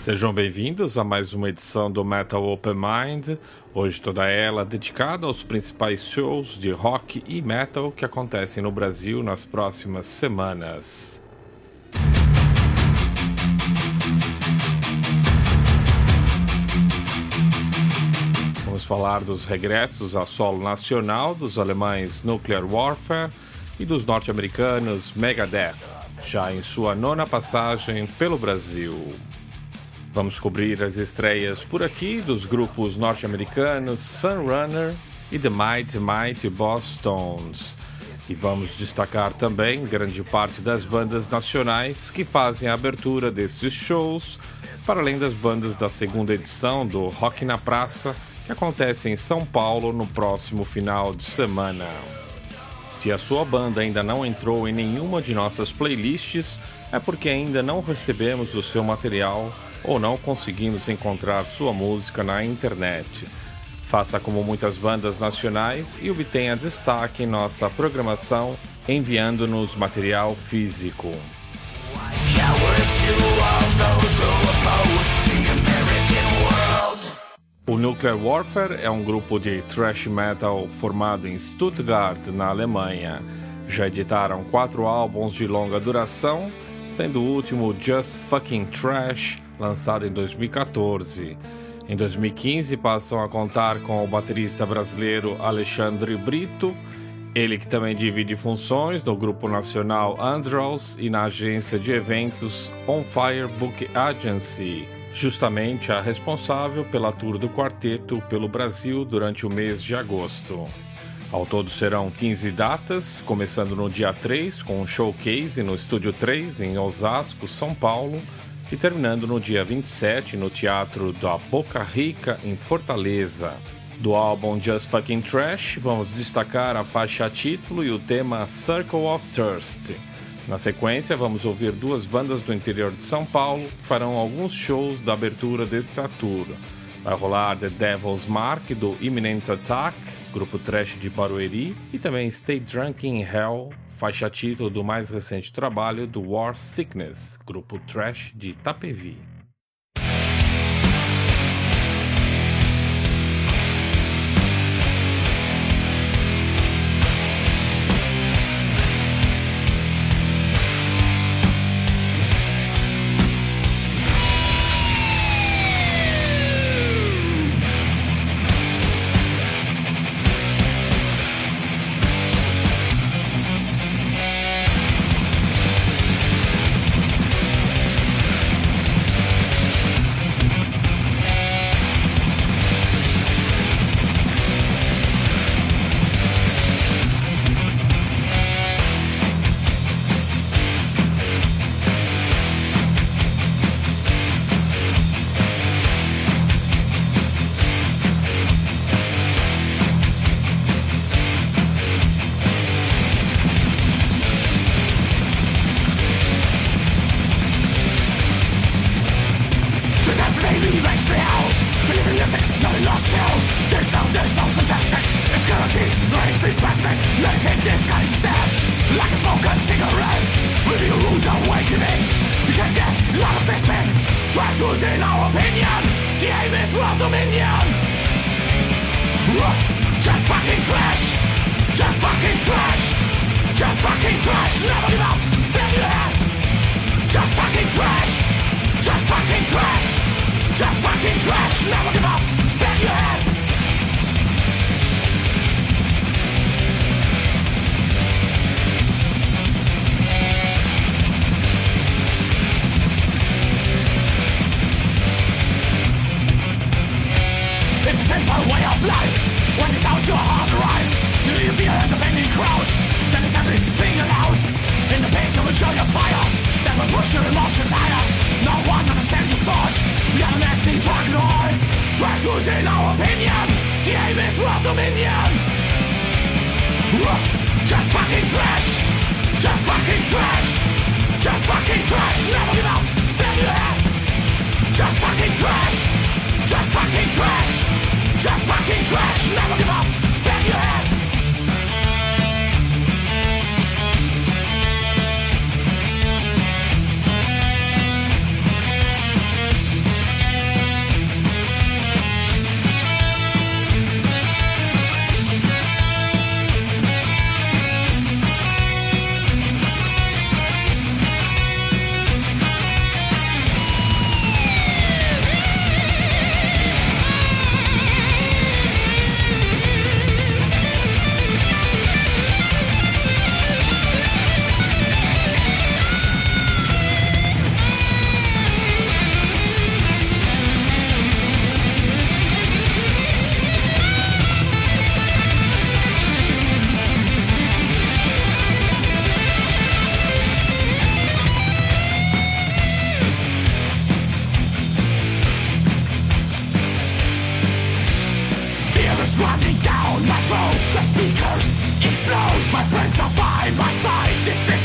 Sejam bem-vindos a mais uma edição do Metal Open Mind, hoje toda ela dedicada aos principais shows de rock e metal que acontecem no Brasil nas próximas semanas. Vamos falar dos regressos a solo nacional dos alemães Nuclear Warfare e dos norte-americanos Megadeth, já em sua nona passagem pelo Brasil. Vamos cobrir as estreias por aqui dos grupos norte-americanos Sunrunner e The Mighty Bosstones. E vamos destacar também grande parte das bandas nacionais que fazem a abertura desses shows, para além das bandas da segunda edição do Rock na Praça, que acontece em São Paulo no próximo final de semana. Se a sua banda ainda não entrou em nenhuma de nossas playlists, é porque ainda não recebemos o seu material ou não conseguimos encontrar sua música na internet. Faça como muitas bandas nacionais e obtenha destaque em nossa programação enviando-nos material físico. O Nuclear Warfare é um grupo de thrash metal formado em Stuttgart, na Alemanha. Já editaram 4 álbuns de longa duração, sendo o último Just Fucking Trash, lançado em 2014. Em 2015 passam a contar com o baterista brasileiro Alexandre Brito, ele que também divide funções no grupo nacional Andros e na agência de eventos On Fire Book Agency, justamente a responsável pela tour do quarteto pelo Brasil durante o mês de agosto. Ao todo serão 15 datas, começando no dia 3 com um showcase no Estúdio 3 em Osasco, São Paulo, e terminando no dia 27 no Teatro da Boca Rica, em Fortaleza. Do álbum Just Fucking Trash, vamos destacar a faixa título e o tema Circle of Thirst. Na sequência, vamos ouvir 2 bandas do interior de São Paulo que farão alguns shows da abertura desta tour. Vai rolar The Devil's Mark, do Imminent Attack, grupo thrash de Barueri, e também Stay Drunk in Hell, faixa título do mais recente trabalho do War Sickness, grupo thrash de Itapevi.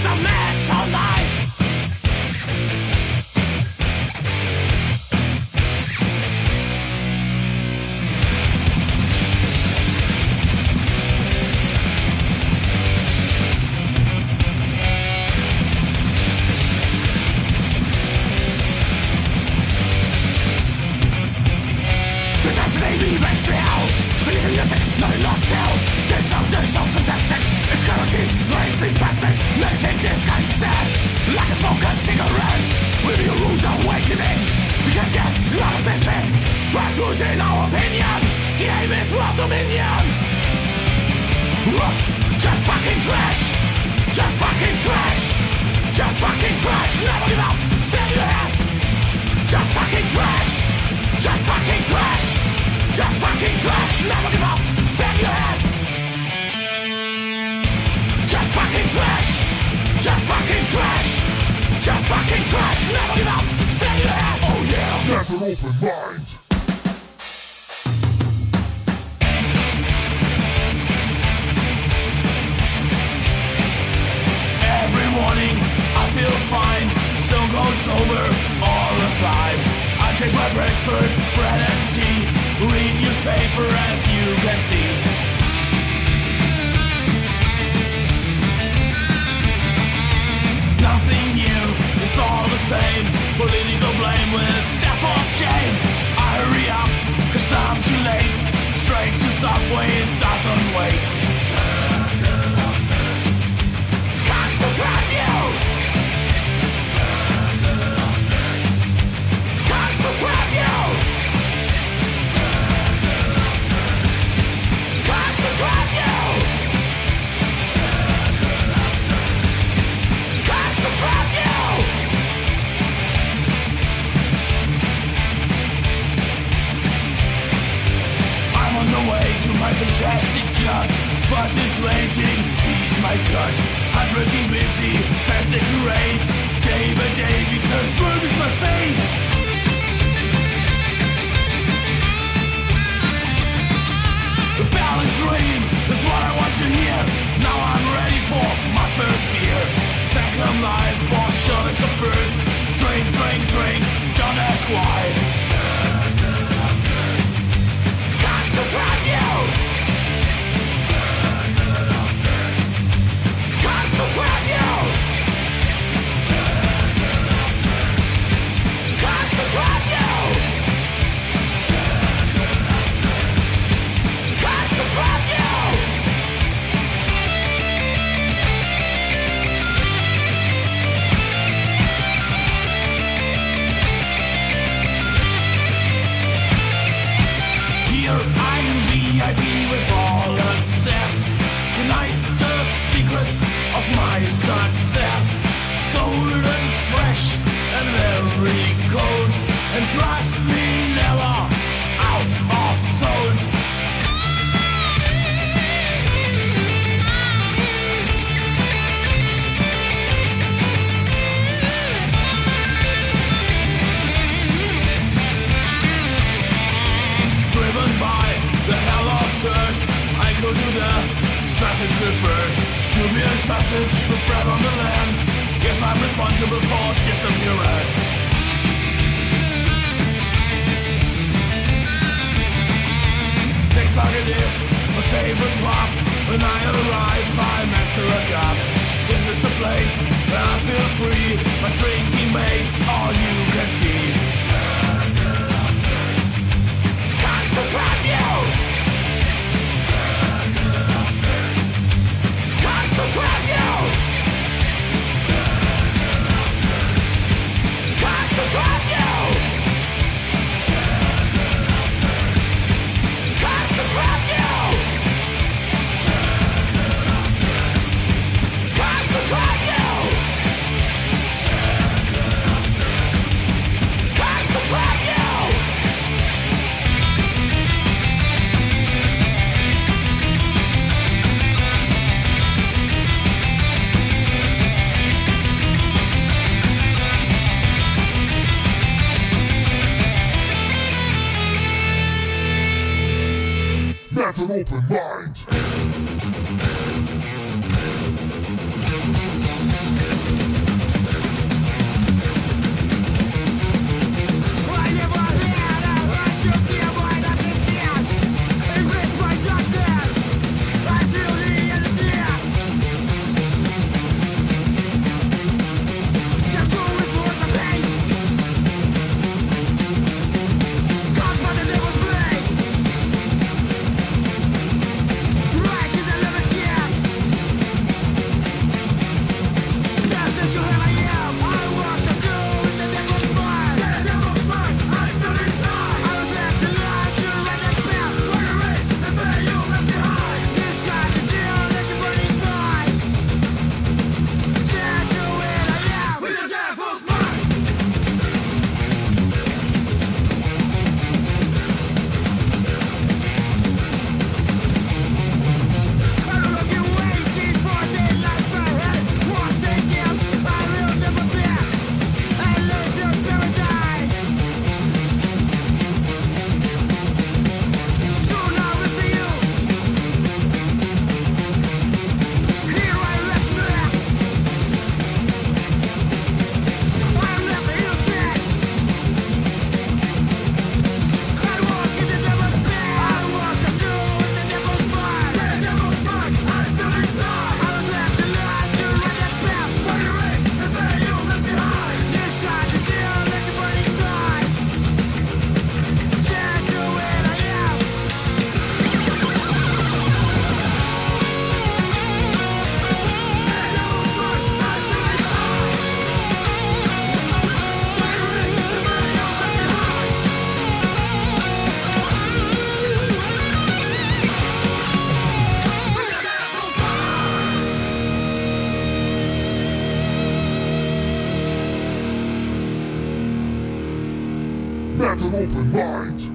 Have an open mind. Not an open mind.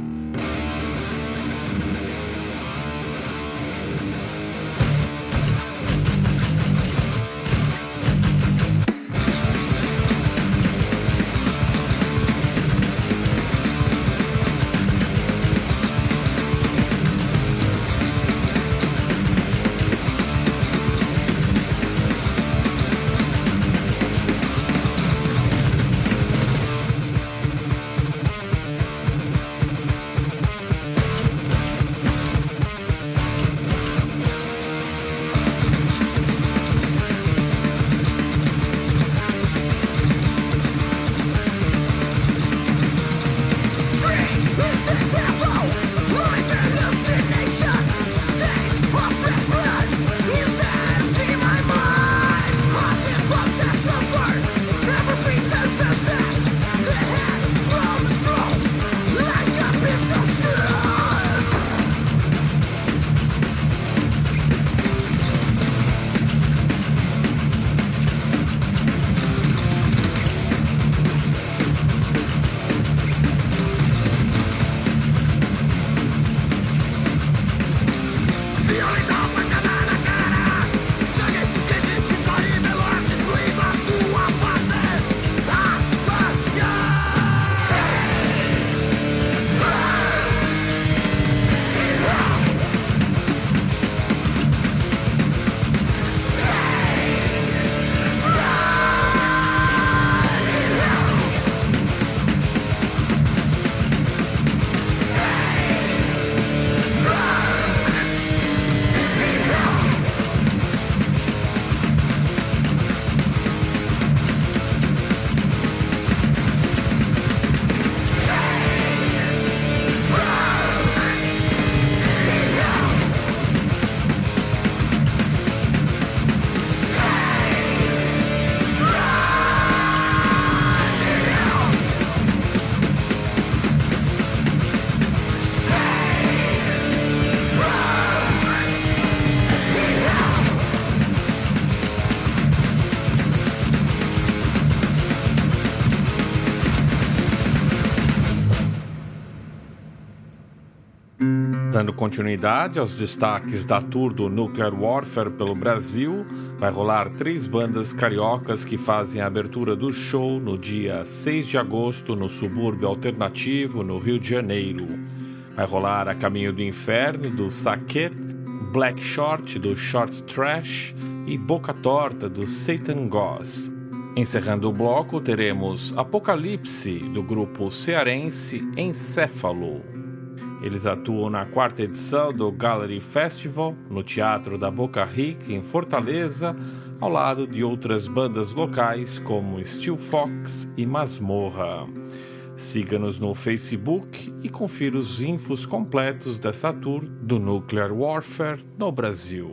Dando continuidade aos destaques da tour do Nuclear Warfare pelo Brasil, vai rolar 3 bandas cariocas que fazem a abertura do show no dia 6 de agosto no Subúrbio Alternativo, no Rio de Janeiro. Vai rolar A Caminho do Inferno, do Saquet, Black Short, do Short Trash e Boca Torta, do Satan Goss. Encerrando o bloco, teremos Apocalipse, do grupo cearense Encéfalo. Eles atuam na 4ª edição do Gallery Festival, no Teatro da Boca Rica, em Fortaleza, ao lado de outras bandas locais como Steel Fox e Masmorra. Siga-nos no Facebook e confira os infos completos dessa tour do Nuclear Warfare no Brasil.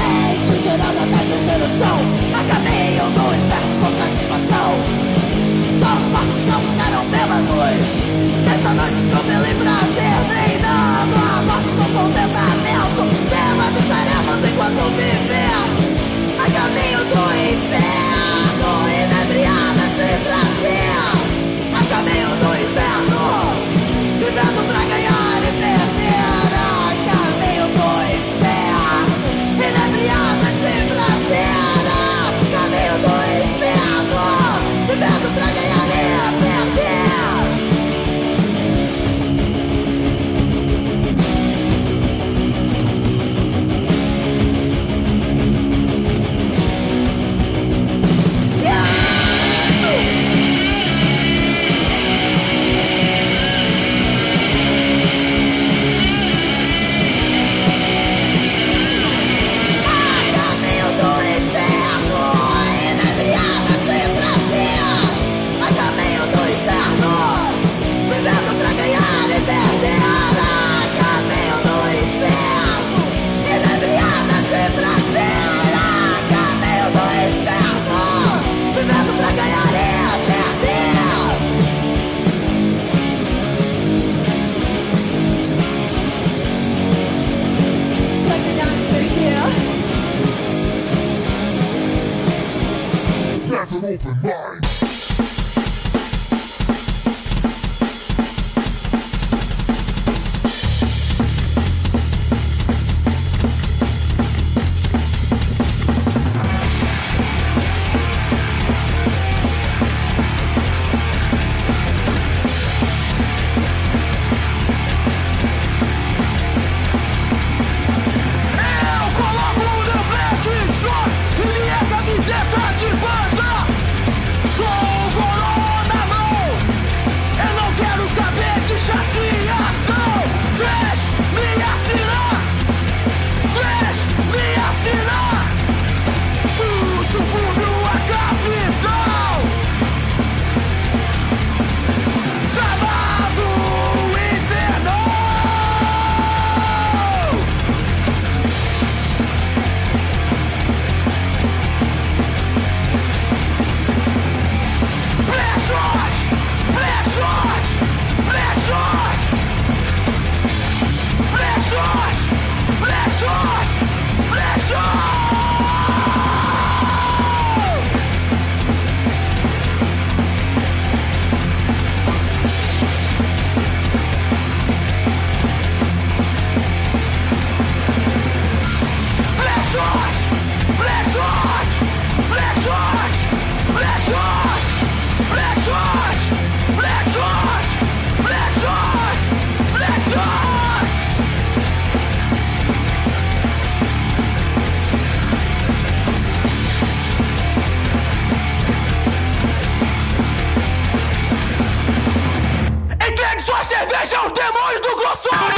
Gerando até atingir o chão, a caminho do inferno com satisfação. Só os mortos não ficaram bêbados. Nesta noite soube prazer, treinando a morte com contentamento. Bêbados estaremos enquanto viver a caminho do inferno, inebriada de prazer. A caminho do inferno, vivendo pra ganhar e perder. A caminho do inferno, inebriada de prazer. A caminho do inferno, vivendo pra ganhar e perder. Have an open mind. Cerveja, os demônios do Glossob!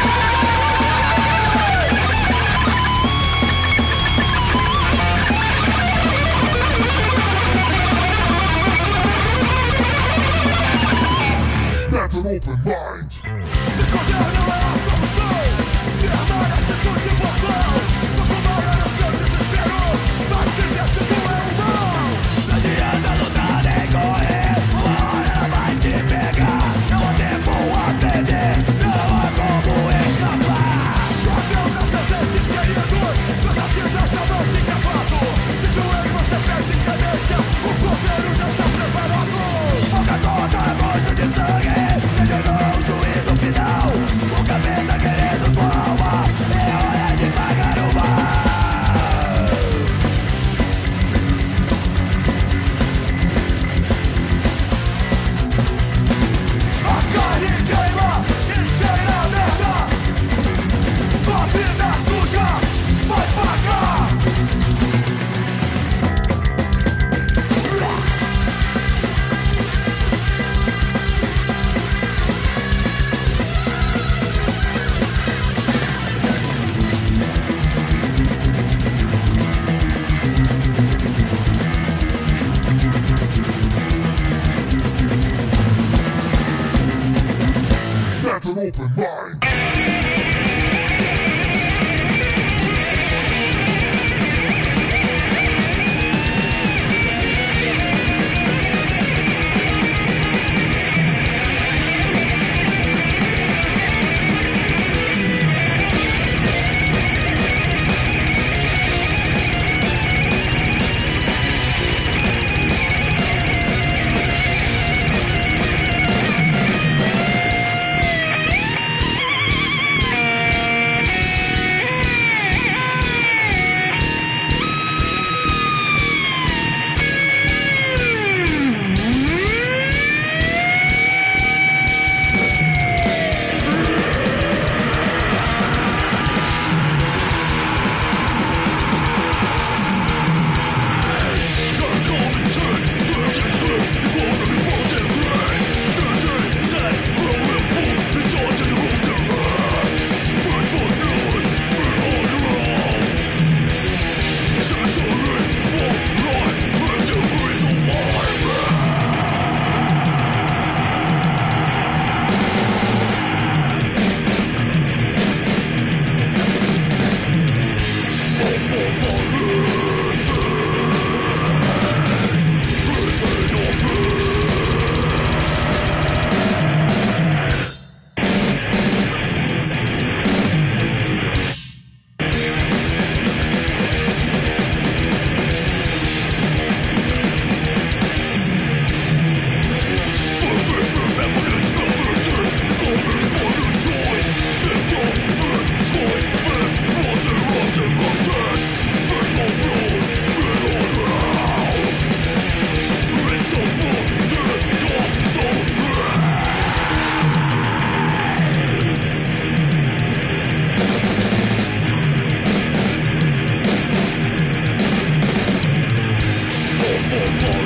Have an open mind. Se esconder não é a solução. Se armar atitude e emoção. Só combater o seu desespero. Mas que atitude é humano. Não adianta lutar nem correr. Uma hora vai te pegar. Não há tempo a perder. Não há como escapar. Só Deus a seus entes queridos. Suas acidas não fica fato. De joelho você perde cadência. O governo já está preparado. Pouca gota, monte de sangue. Ele não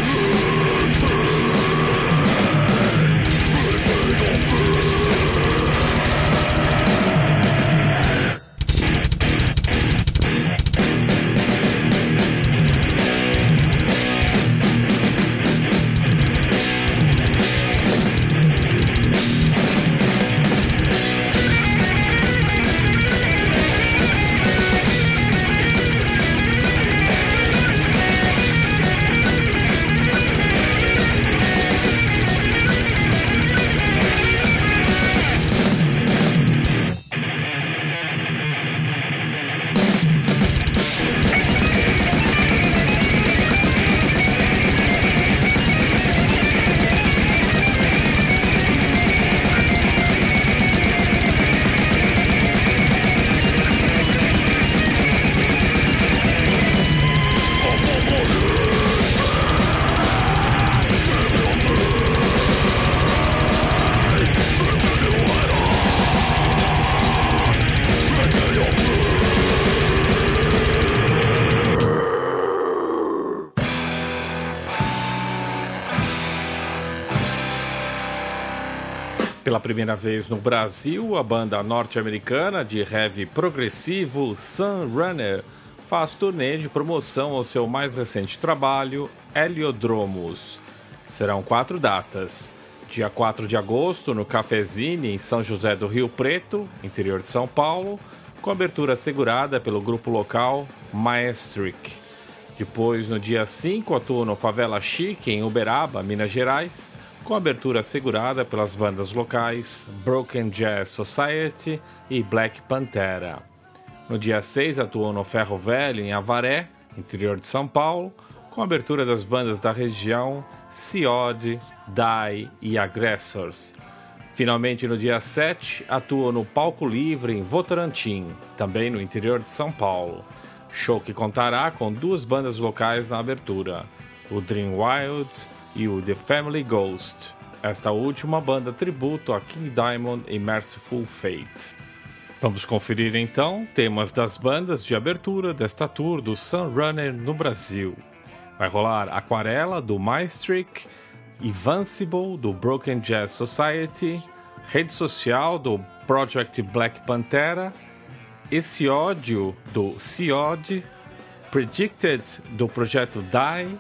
Pela primeira vez no Brasil, a banda norte-americana de heavy progressivo Sunrunner faz turnê de promoção ao seu mais recente trabalho, Heliodromos. Serão 4 datas. Dia 4 de agosto, no Cafezine, em São José do Rio Preto, interior de São Paulo, com abertura assegurada pelo grupo local Maestric. Depois, no dia 5, atua no Favela Chique, em Uberaba, Minas Gerais, com abertura assegurada pelas bandas locais Broken Jazz Society e Black Pantera. No dia 6, atuou no Ferro Velho, em Avaré, interior de São Paulo, com abertura das bandas da região Ciode, Die e Aggressors. Finalmente, no dia 7, atuou no Palco Livre, em Votorantim, também no interior de São Paulo. Show que contará com 2 bandas locais na abertura, o Dream Wild e o The Family Ghost, esta última banda tributo a King Diamond e Merciful Fate. Vamos conferir então temas das bandas de abertura desta tour do Sunrunner no Brasil. Vai rolar Aquarela, do Maestric, Invincible, do Broken Jazz Society, Rede Social, do Project Black Pantera, Esse Ódio, do Ciode, Predicted, do Projeto Die,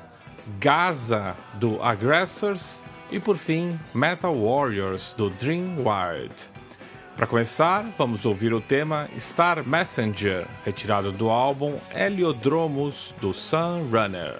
Gaza, do Aggressors e, por fim, Metal Warriors, do Dream Wild. Para começar, vamos ouvir o tema Star Messenger, retirado do álbum Heliodromos, do Sunrunner.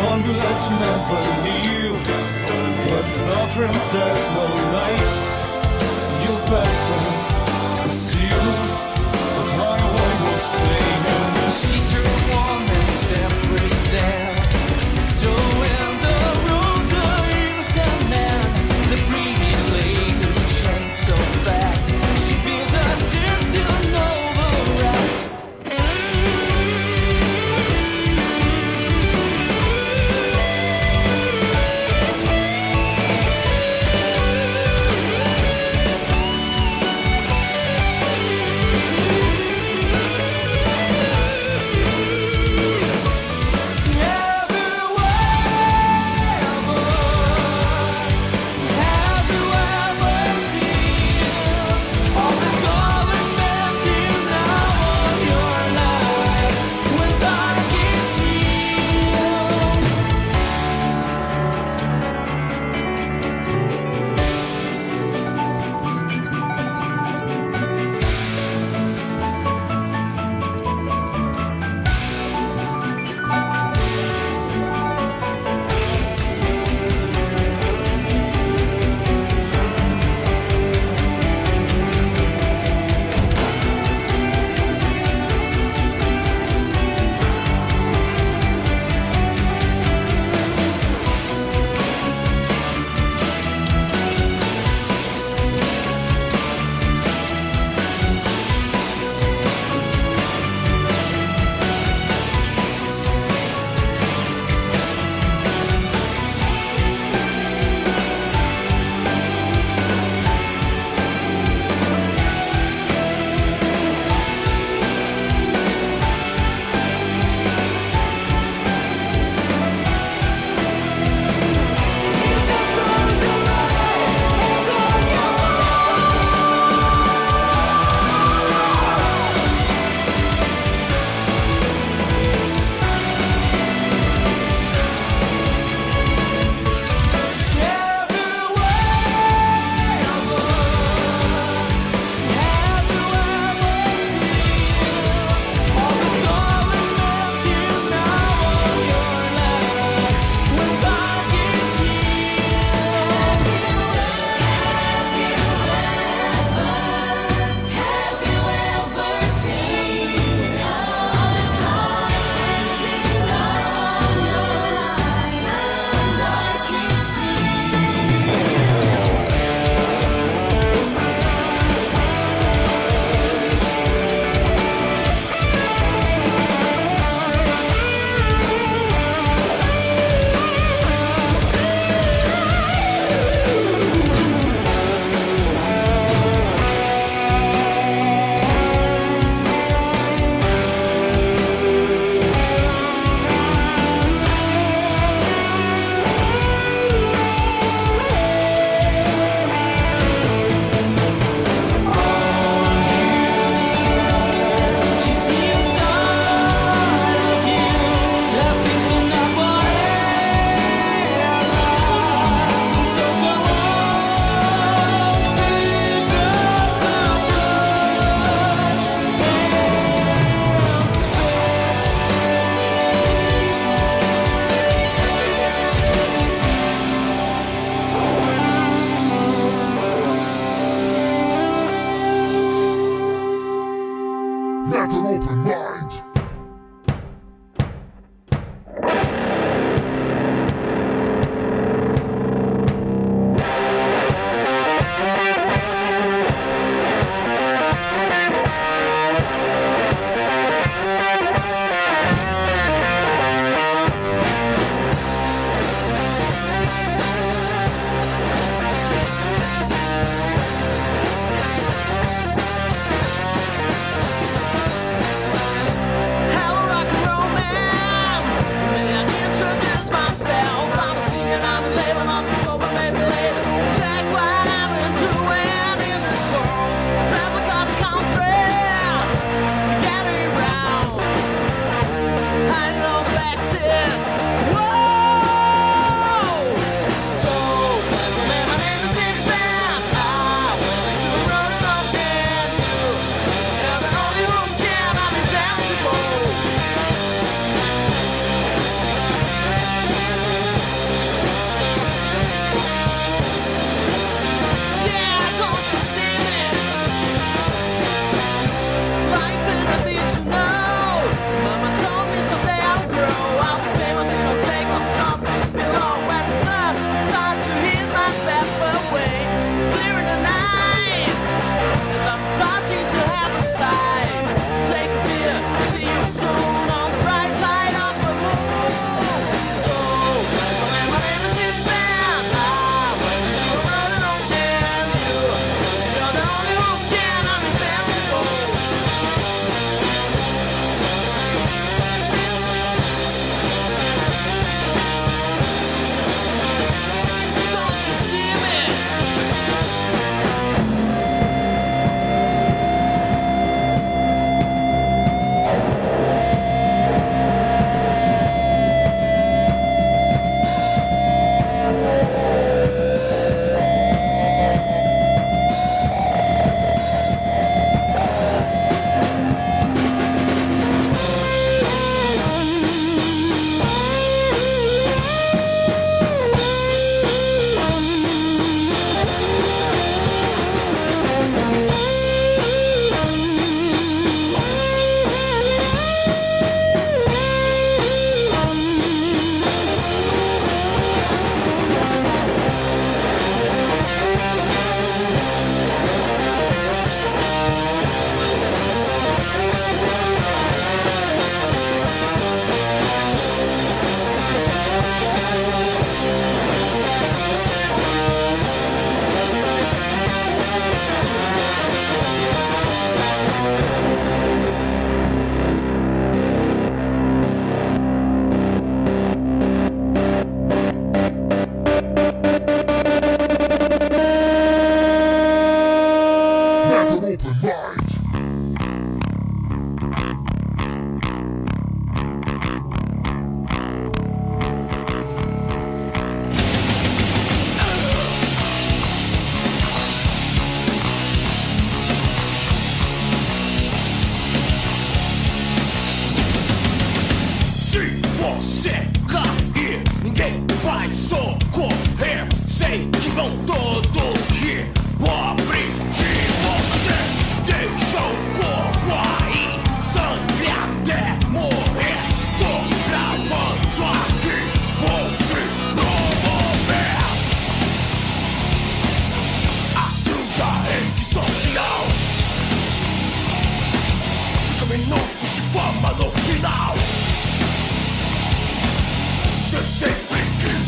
ambulance never leave. With doctrines there's no life. Your person is you, but highway will sing. She turned warm and everything. Doing the road, doing some man. The breathing lady changed so fast. She built a six, you know the rest.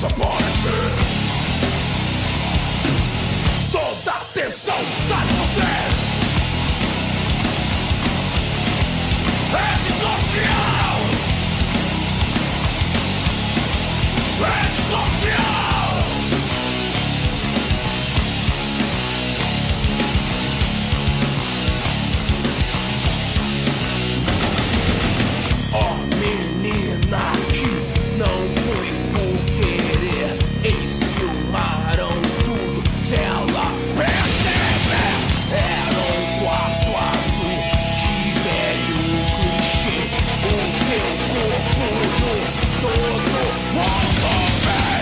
desaparecer. Toda a atenção está em você. Rede social. Rede social. Oh, menina que não foi por querer, enciumaram tudo se ela perceber. Era um quarto azul, que velho clichê. O teu corpo no todo mundo bem.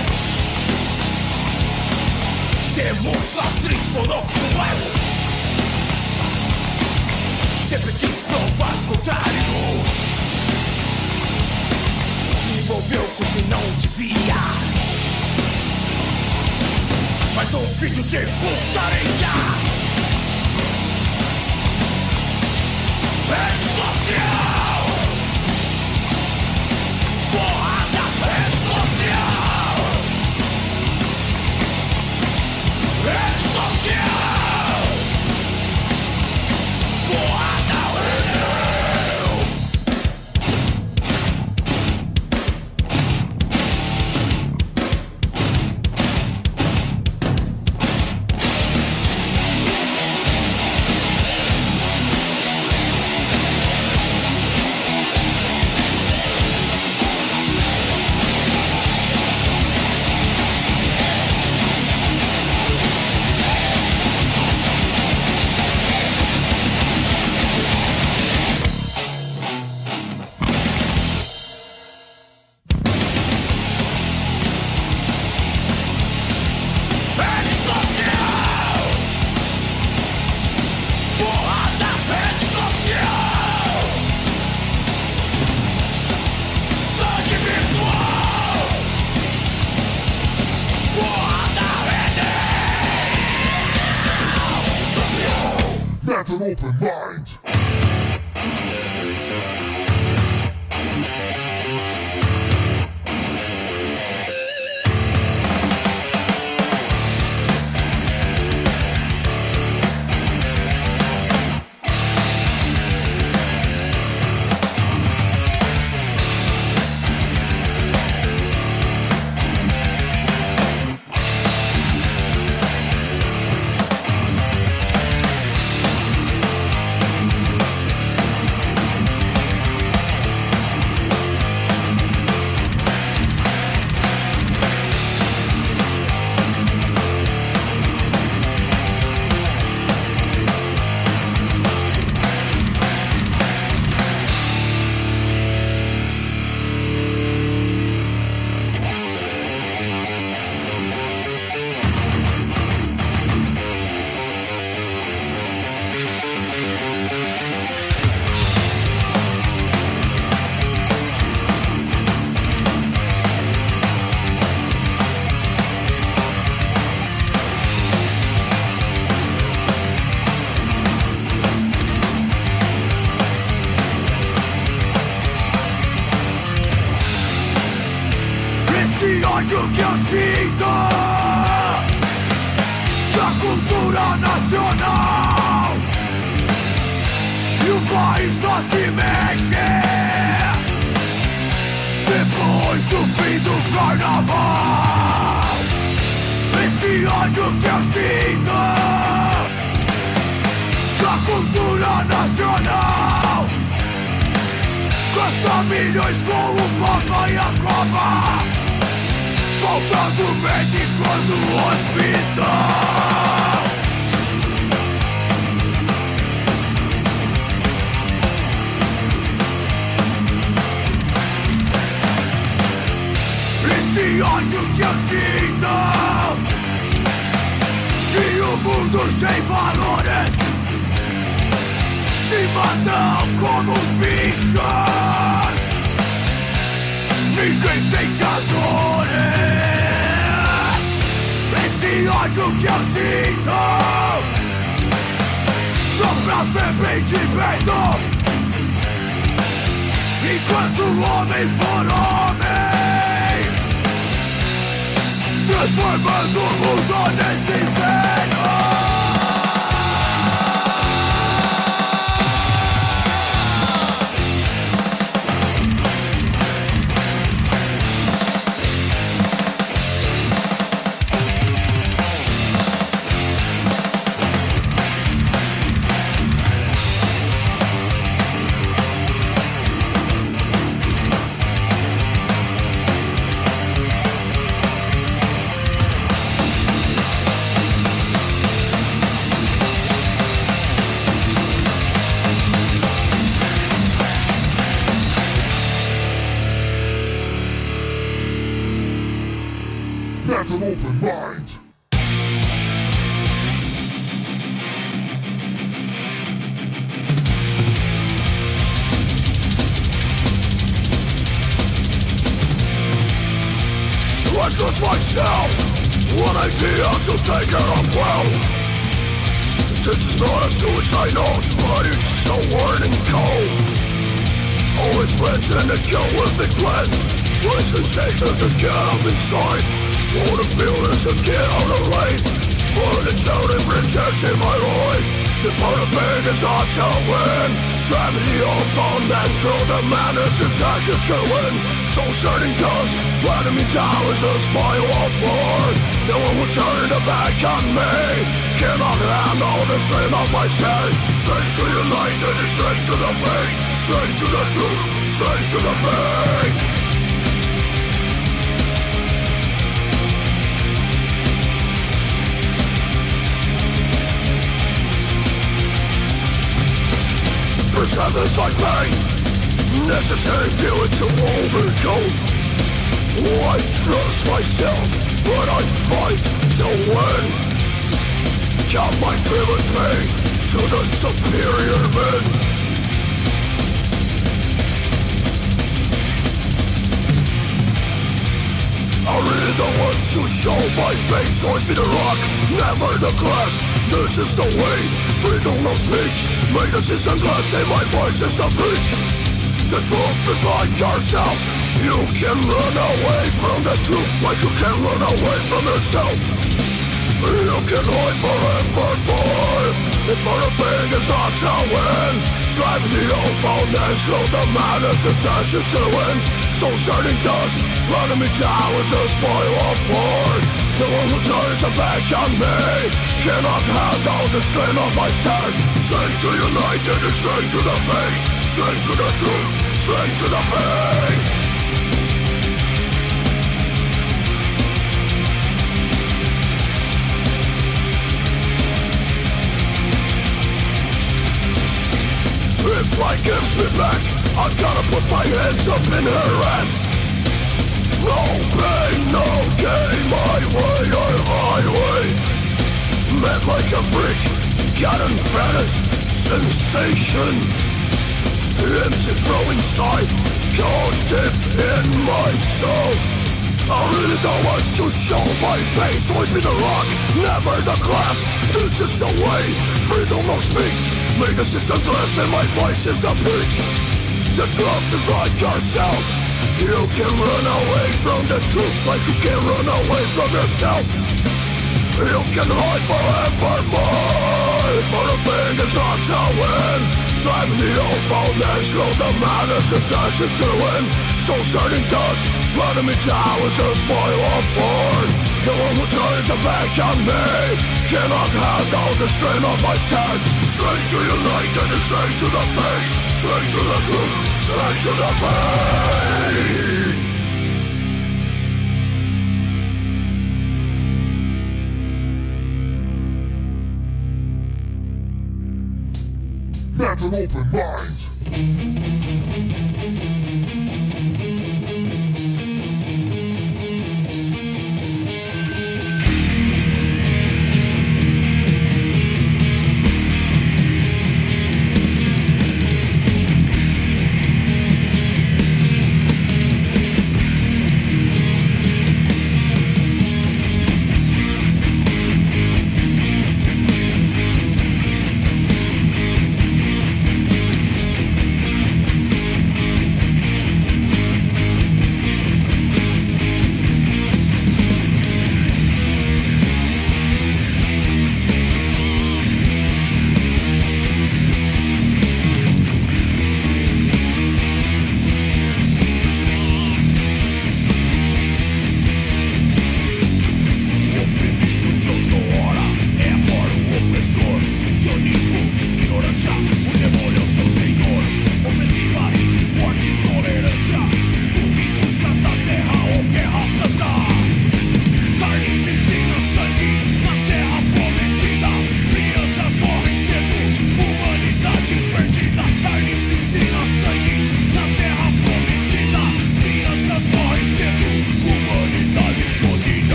Temos atriz pornô no bairro. Sempre quis provar o contrário. Se envolveu com quem não devia. Mais um vídeo de putaria. Rede social. Porrada, rede social. Rede social. Porrada, Have an open mind. ódio que eu sinto da cultura nacional, e o país só se mexe depois do fim do carnaval. Esse ódio que eu sinto da cultura nacional gasta milhões com o Papa e a Copa, faltando médico no hospital. Esse ódio que eu sinto de um mundo sem valores, se matam como os bichos, ninguém sente a dor. Esse ódio que eu sinto só pra ver bem de medo, enquanto o homem for homem, transformando o mundo nesse inferno. Have an open mind. I trust myself, one idea to take care of well. This is not a suicide note, but it's so worn and cold. Only plans and the kill will be cleansed. With sensations to get up inside. All the feelings to get out of lane. For the town and protecting my life. The part of pain is not to win. Gravity all bound and through the madness is ashes to win. Soul starting dust, letting me down with a smile of war. No one will turn their back on me. Cannot handle the strain of my spirit. Straight to the light and straight to the pain. Straight to the truth, straight to the pain. Perseverance like pain, necessary feeling to overcome. I trust myself, but I fight to win. Count my driven pain to the superior men. I really don't want to show my face, always be the rock, never the glass. This is the way, freedom of speech. Make the system glass, say my voice is the beat. The truth is like yourself. You can run away from the truth like you can run away from yourself. You can hide forevermore. If for a thing is not to win, strive the old and show the madness is ashes to win. Soul starting dust, running me down with the spoil of war. The one who turns the back on me cannot handle the strain of my stand. Strength to unite and strength to the pain. Strength to the truth, strength to the pain. If life gives me back, I've gotta put my hands up in her ass. No pain, no gain, my way or highway. Met like a freak, got an vanished sensation. Empty flow inside, cold deep in my soul. I really don't want to show my face, always be the rock, never the glass. This is the way, freedom of speech. Make the system glass and my voice is the beat. The truth is like yourself. You can run away from the truth like you can run away from yourself. You can hide forevermore. For a thing is not to win. Strive the old and show the madness is ashes to win. Soul starting dust, running me down with the spoil of war. The one who turns the back on me cannot handle the strain of my stand. Straight to unite and straight to the pain. Straight to the truth, straight to the pain. Have an open mind.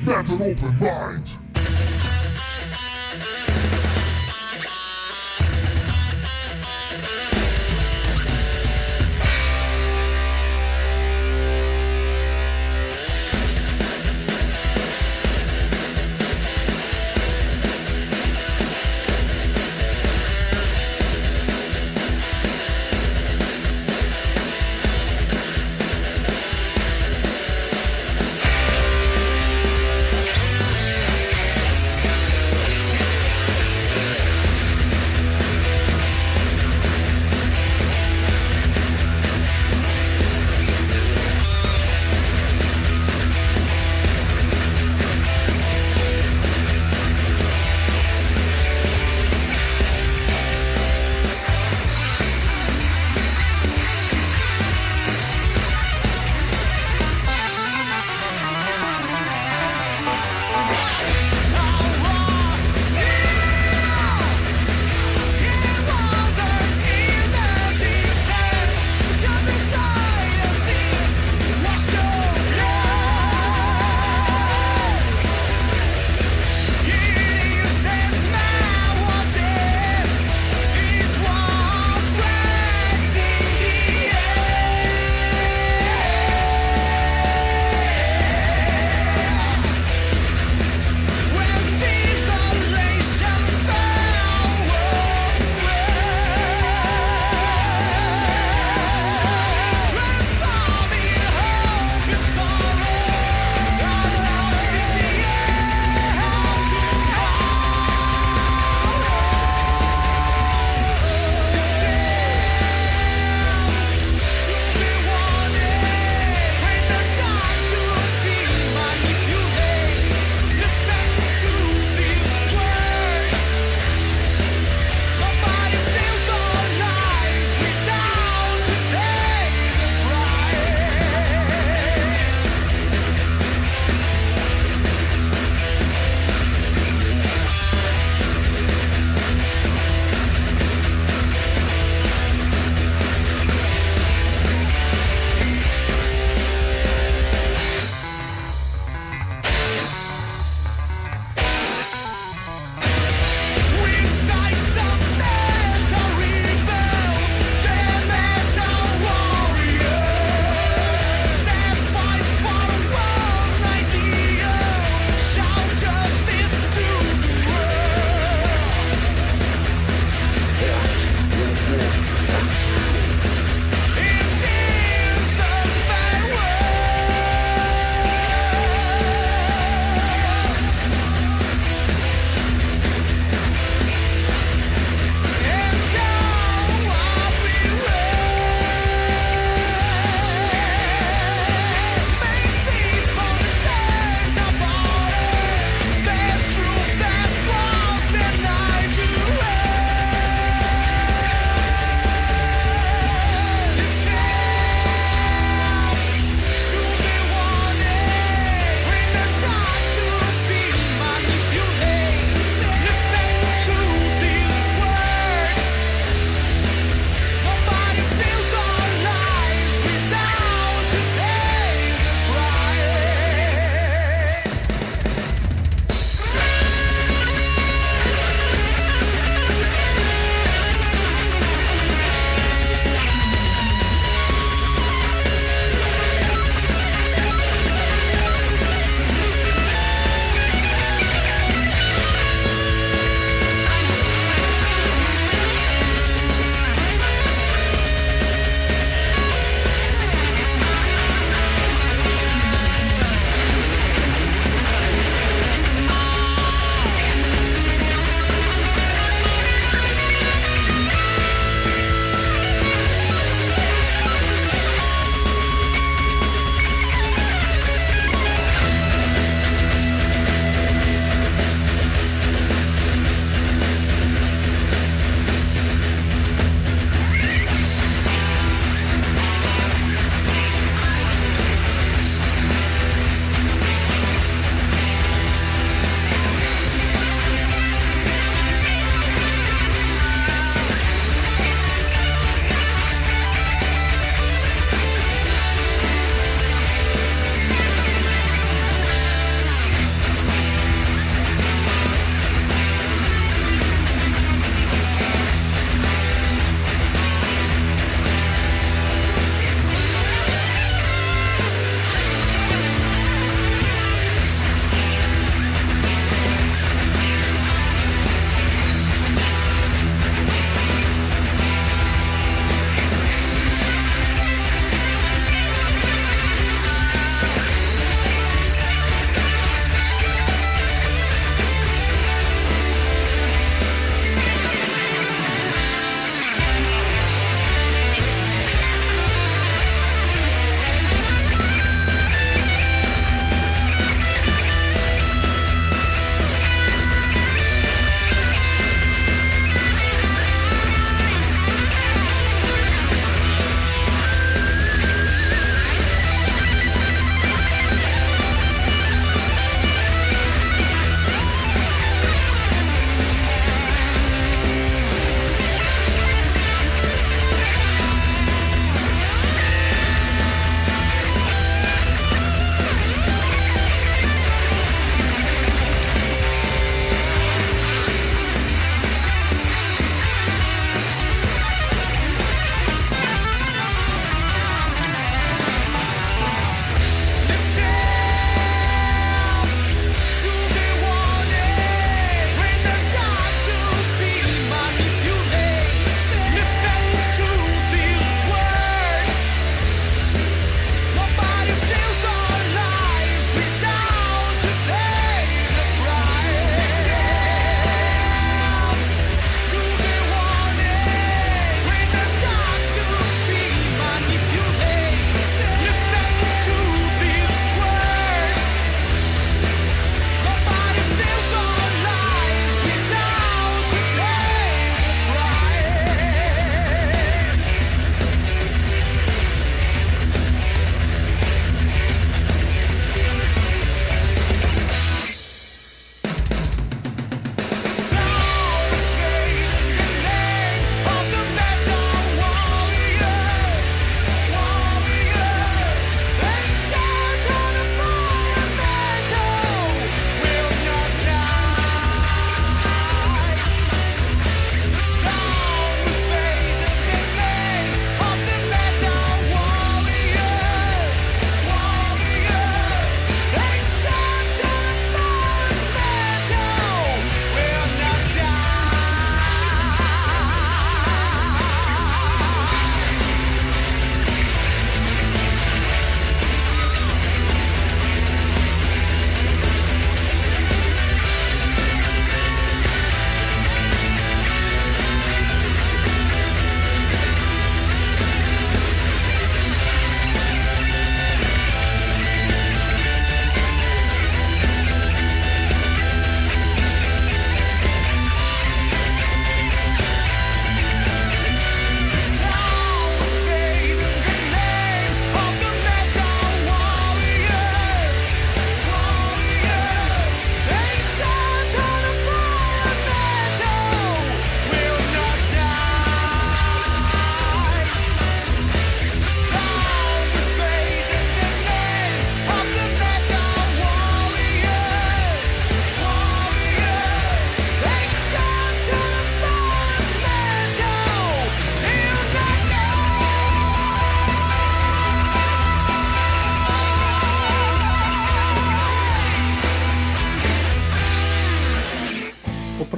Let an open mind.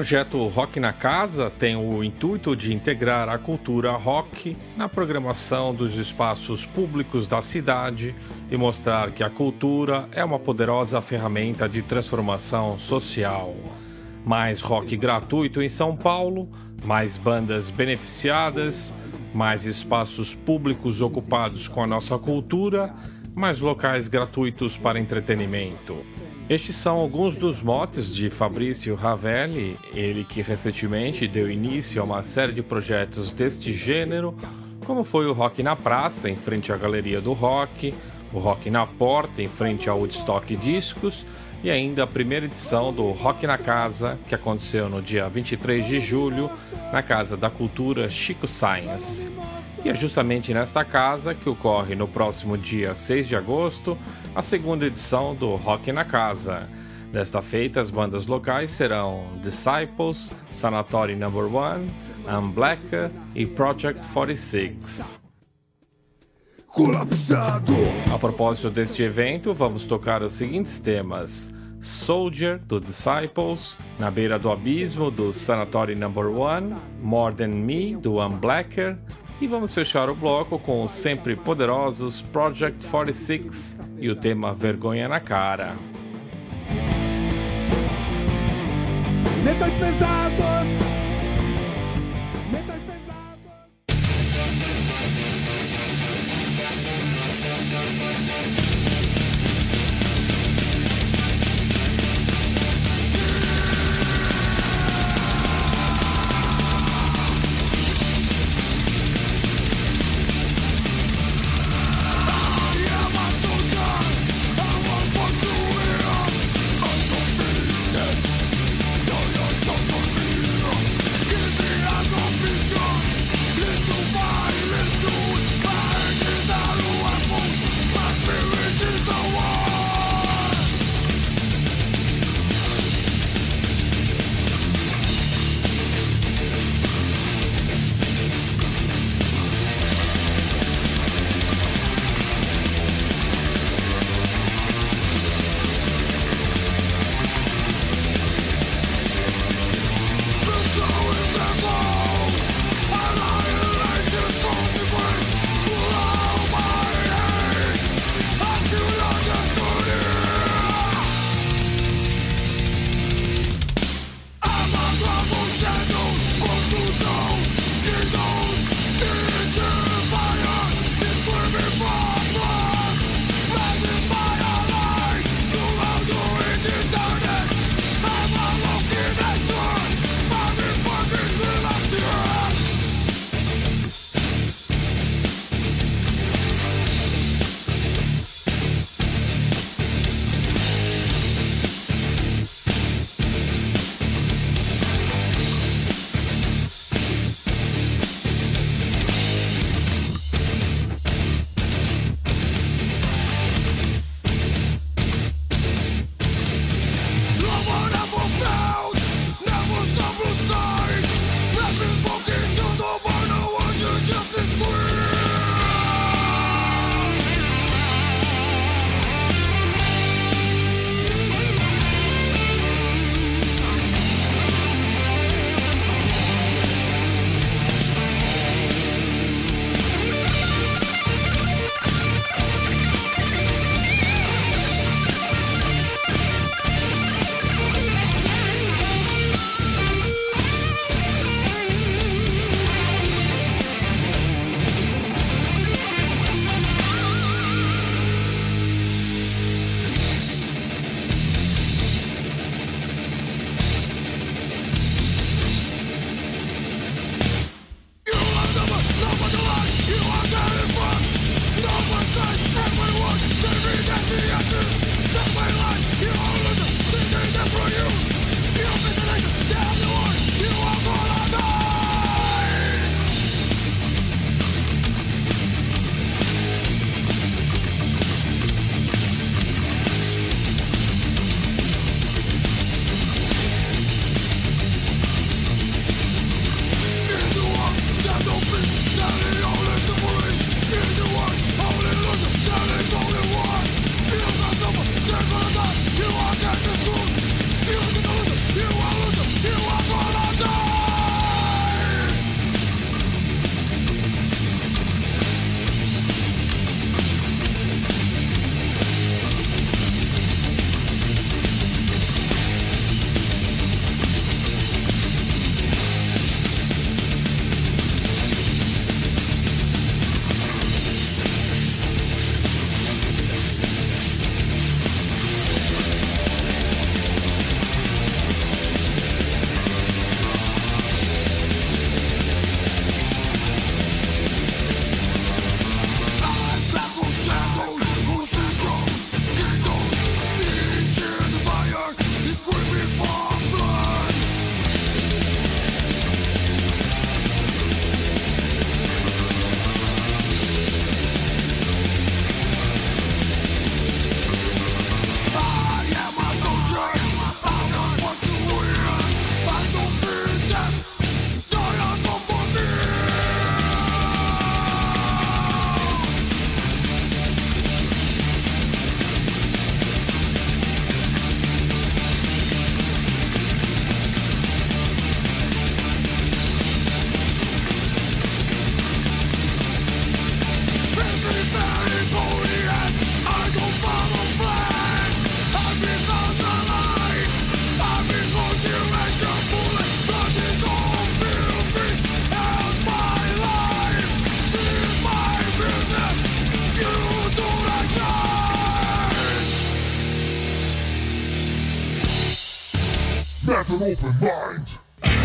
projeto Rock na Casa tem o intuito de integrar a cultura rock na programação dos espaços públicos da cidade e mostrar que a cultura é uma poderosa ferramenta de transformação social. Mais rock gratuito em São Paulo, mais bandas beneficiadas, mais espaços públicos ocupados com a nossa cultura, mais locais gratuitos para entretenimento. Estes são alguns dos motes de Fabrício Ravelli, ele que recentemente deu início a uma série de projetos deste gênero, como foi o Rock na Praça, em frente à Galeria do Rock, o Rock na Porta, em frente ao Woodstock Discos, e ainda a primeira edição do Rock na Casa, que aconteceu no dia 23 de julho, na Casa da Cultura Chico Science. E é justamente nesta casa que ocorre no próximo dia 6 de agosto a segunda edição do Rock na Casa. Desta feita, as bandas locais serão Disciples, Sanatorium No. 1, Unblacker e Project 46. Colapsado. A propósito deste evento, vamos tocar os seguintes temas: Soldier, do Disciples, Na Beira do Abismo, do Sanatorium No. 1, More Than Me, do Unblacker, e vamos fechar o bloco com os sempre poderosos Project 46 e o tema Vergonha na Cara. Metais pesados. Metais pesados. Undefeated, though you're so Met an open mind.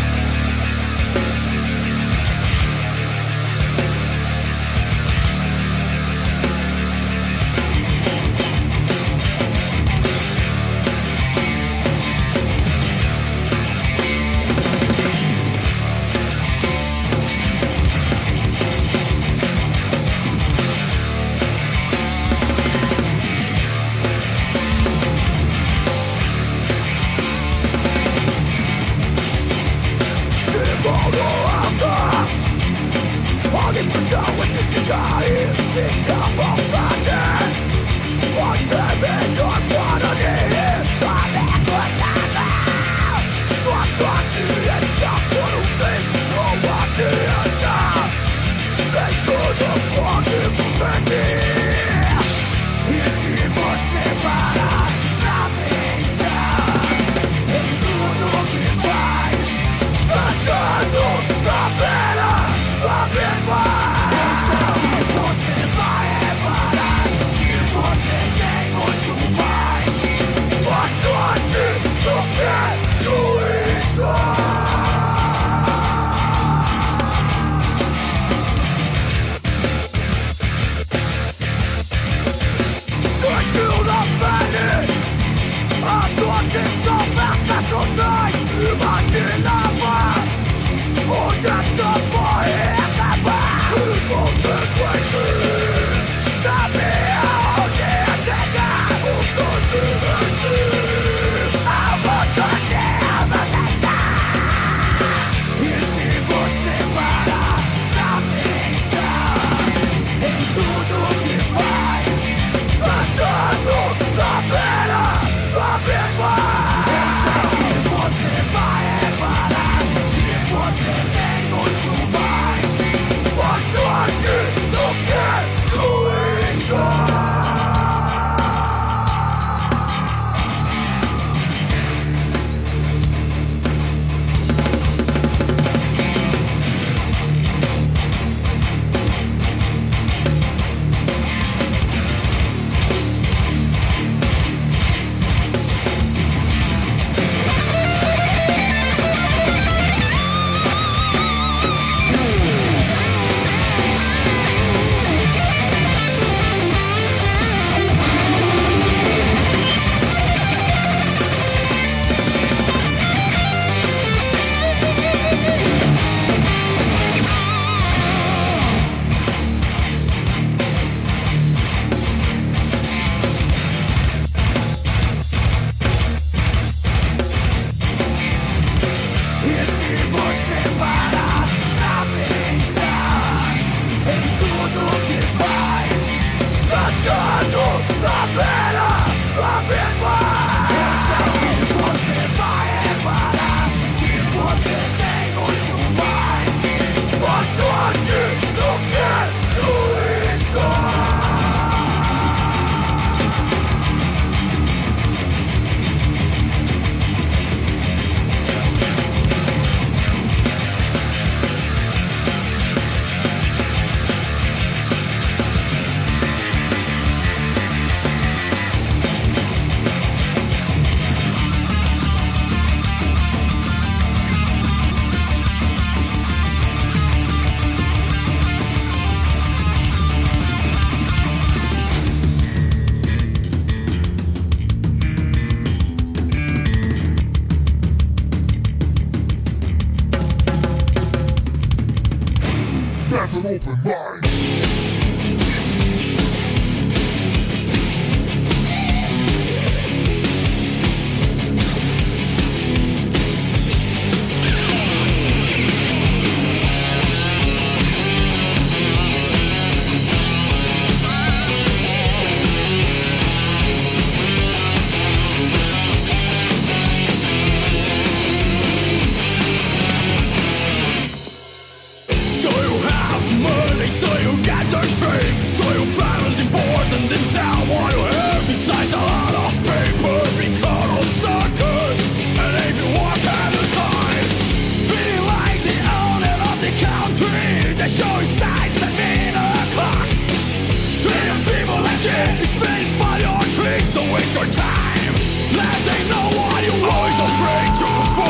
Met an open mind. Spend by your tricks, don't waste your time. Let they know what you always afraid to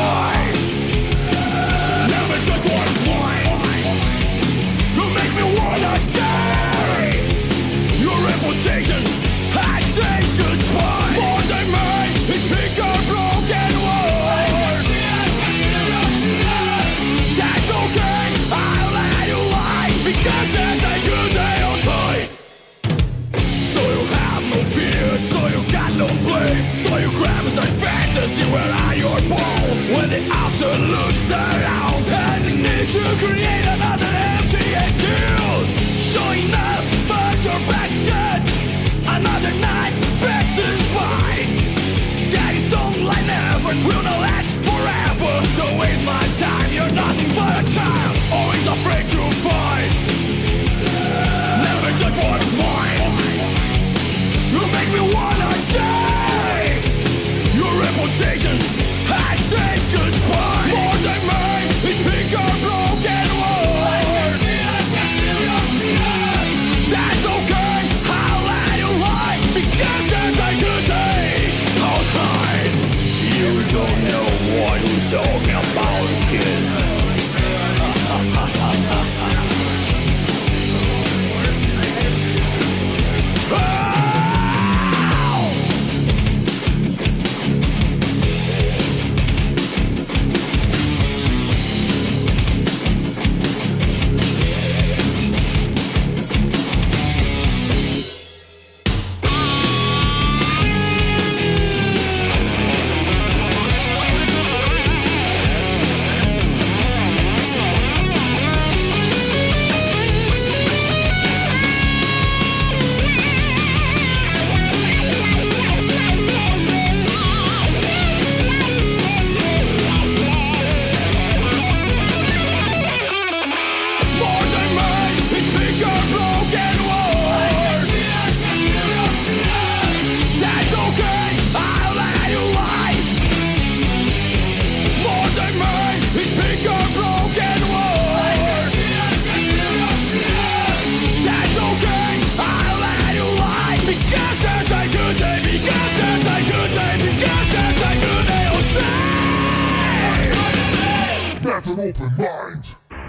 open mind.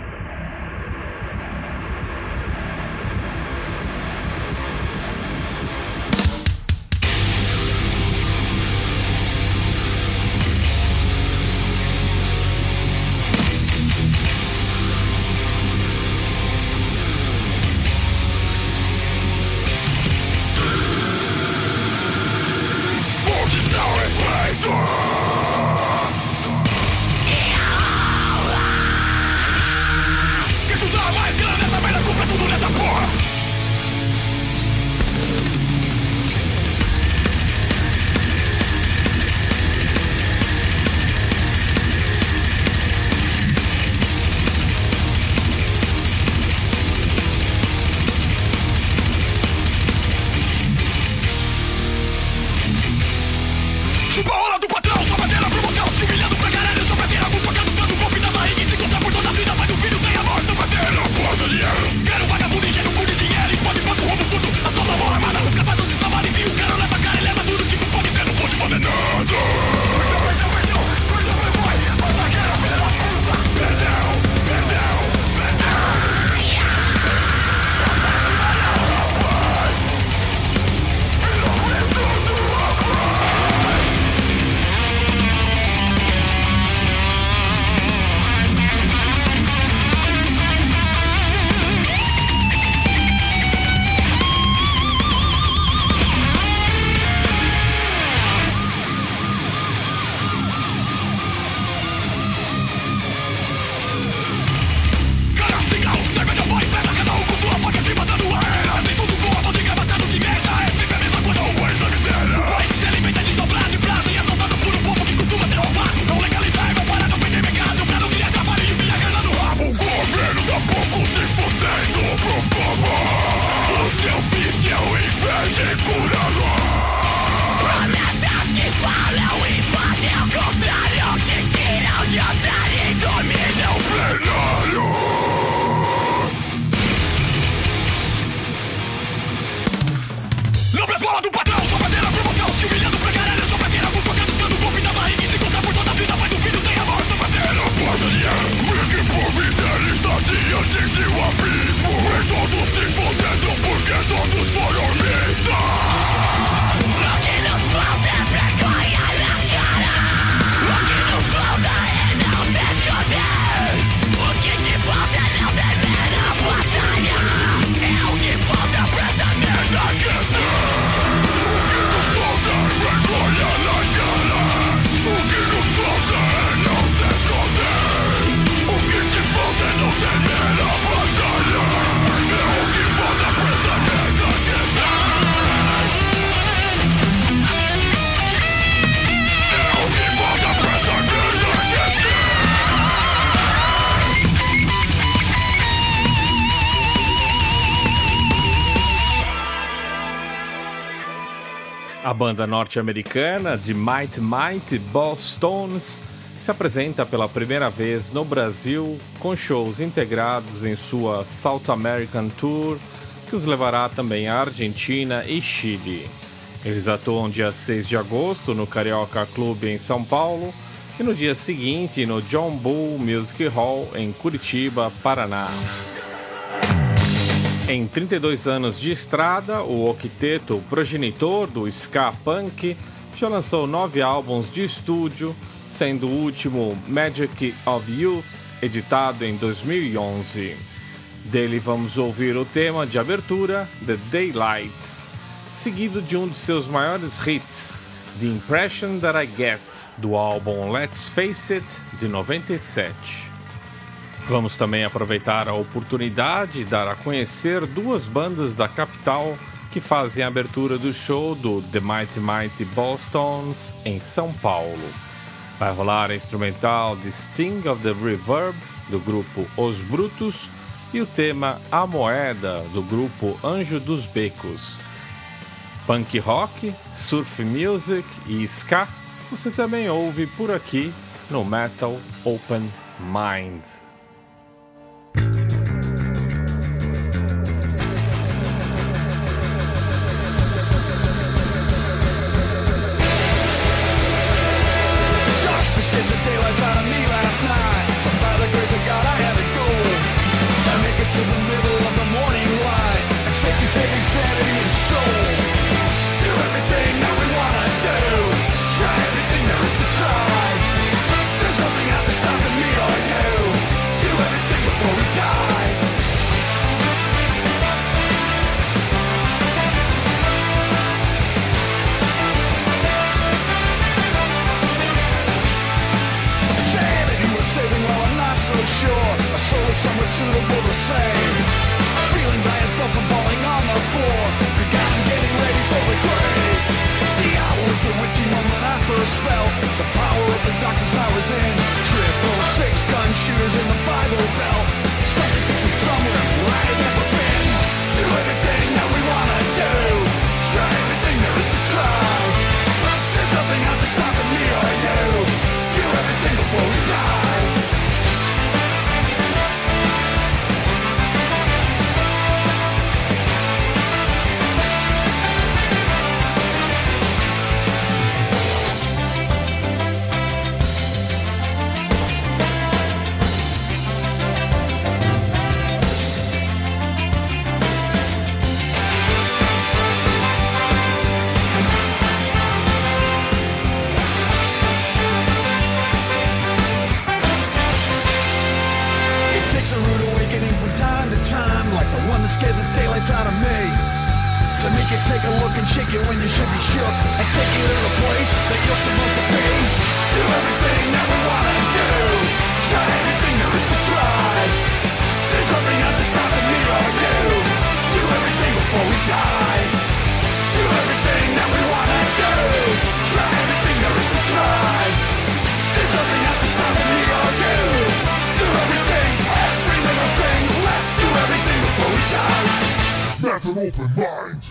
A banda norte-americana de Mighty Mighty Bosstones se apresenta pela primeira vez no Brasil com shows integrados em sua South American Tour, que os levará também à Argentina e Chile. Eles atuam dia 6 de agosto no Carioca Clube em São Paulo e no dia seguinte no John Bull Music Hall em Curitiba, Paraná. Em 32 anos de estrada, o octeto progenitor do ska punk já lançou 9 álbuns de estúdio, sendo o último Magic of Youth, editado em 2011. Dele vamos ouvir o tema de abertura, The Daylights, seguido de um de seus maiores hits, The Impression That I Get, do álbum Let's Face It, de 97. Vamos também aproveitar a oportunidade e dar a conhecer duas bandas da capital que fazem a abertura do show do The Mighty Mighty Bosstones em São Paulo. Vai rolar a instrumental The Sting of the Reverb, do grupo Os Brutos, e o tema A Moeda, do grupo Anjo dos Becos. Punk rock, surf music e ska você também ouve por aqui no Metal Open Mind. The daylights out of me last night, but by the grace sanity and soul. Do everything that we wanna do. Try everything there is to try. There's nothing out there stopping me or you. Do everything before we die. Sanity worth saving, well I'm not so sure. A soul is somewhat suitable the same. Feelings I had felt from falling on the floor. Forgot I'm getting ready for the grave. The hour was the witchy moment I first felt. The power of the darkness I was in. 666 gun shooters in the Bible Belt. Something took me somewhere where I had never been. Do everything that we wanna do. Try everything there is to try. There's nothing out there stopping me or you. Do everything before we die. That scared the daylights out of me. To make you take a look and shake you when you should be shook, and take you to the place that you're supposed to be. Do everything that we wanna do. Try everything there is to try. There's nothing out there stopping me or you. Do everything before we die. Do everything that we wanna do. Try everything there is to try. There's nothing out there stopping me or you. Do everything, every little thing. Let's do everything before we die. Method Open Mind.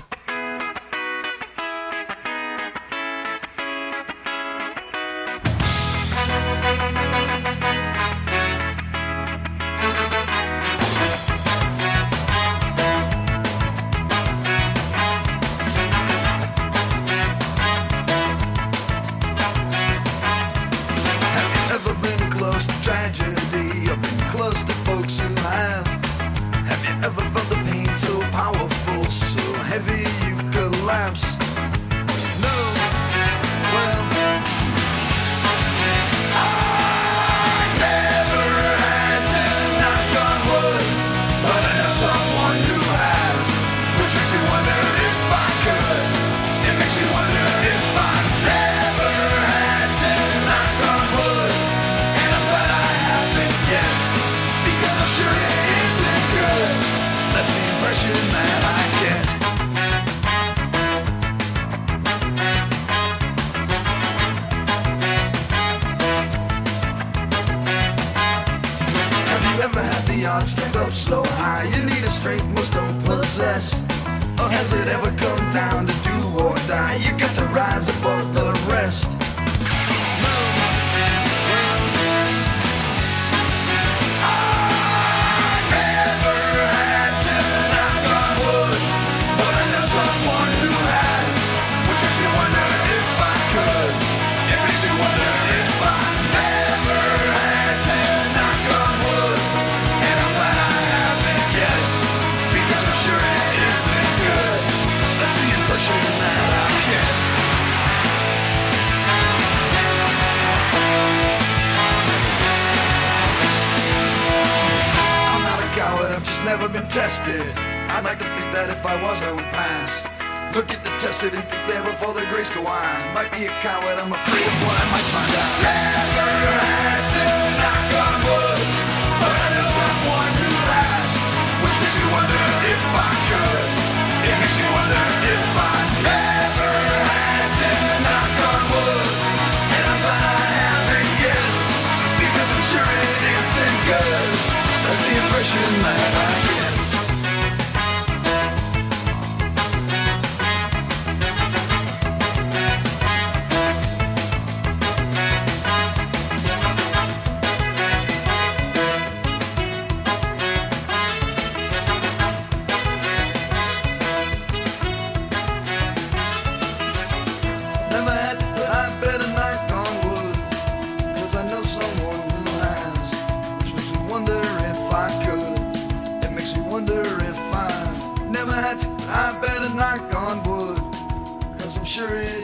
Tested. I'd like to think that if I was, I would pass. Look at the tested and think there before the grace go on. Might be a coward, I'm afraid of what I might find out. Never had to knock on wood, but I know someone who has. Which makes me wonder if I could. It makes me wonder if I never had to knock on wood. And I'm glad I haven't yet, because I'm sure it isn't good. That's the impression that I get.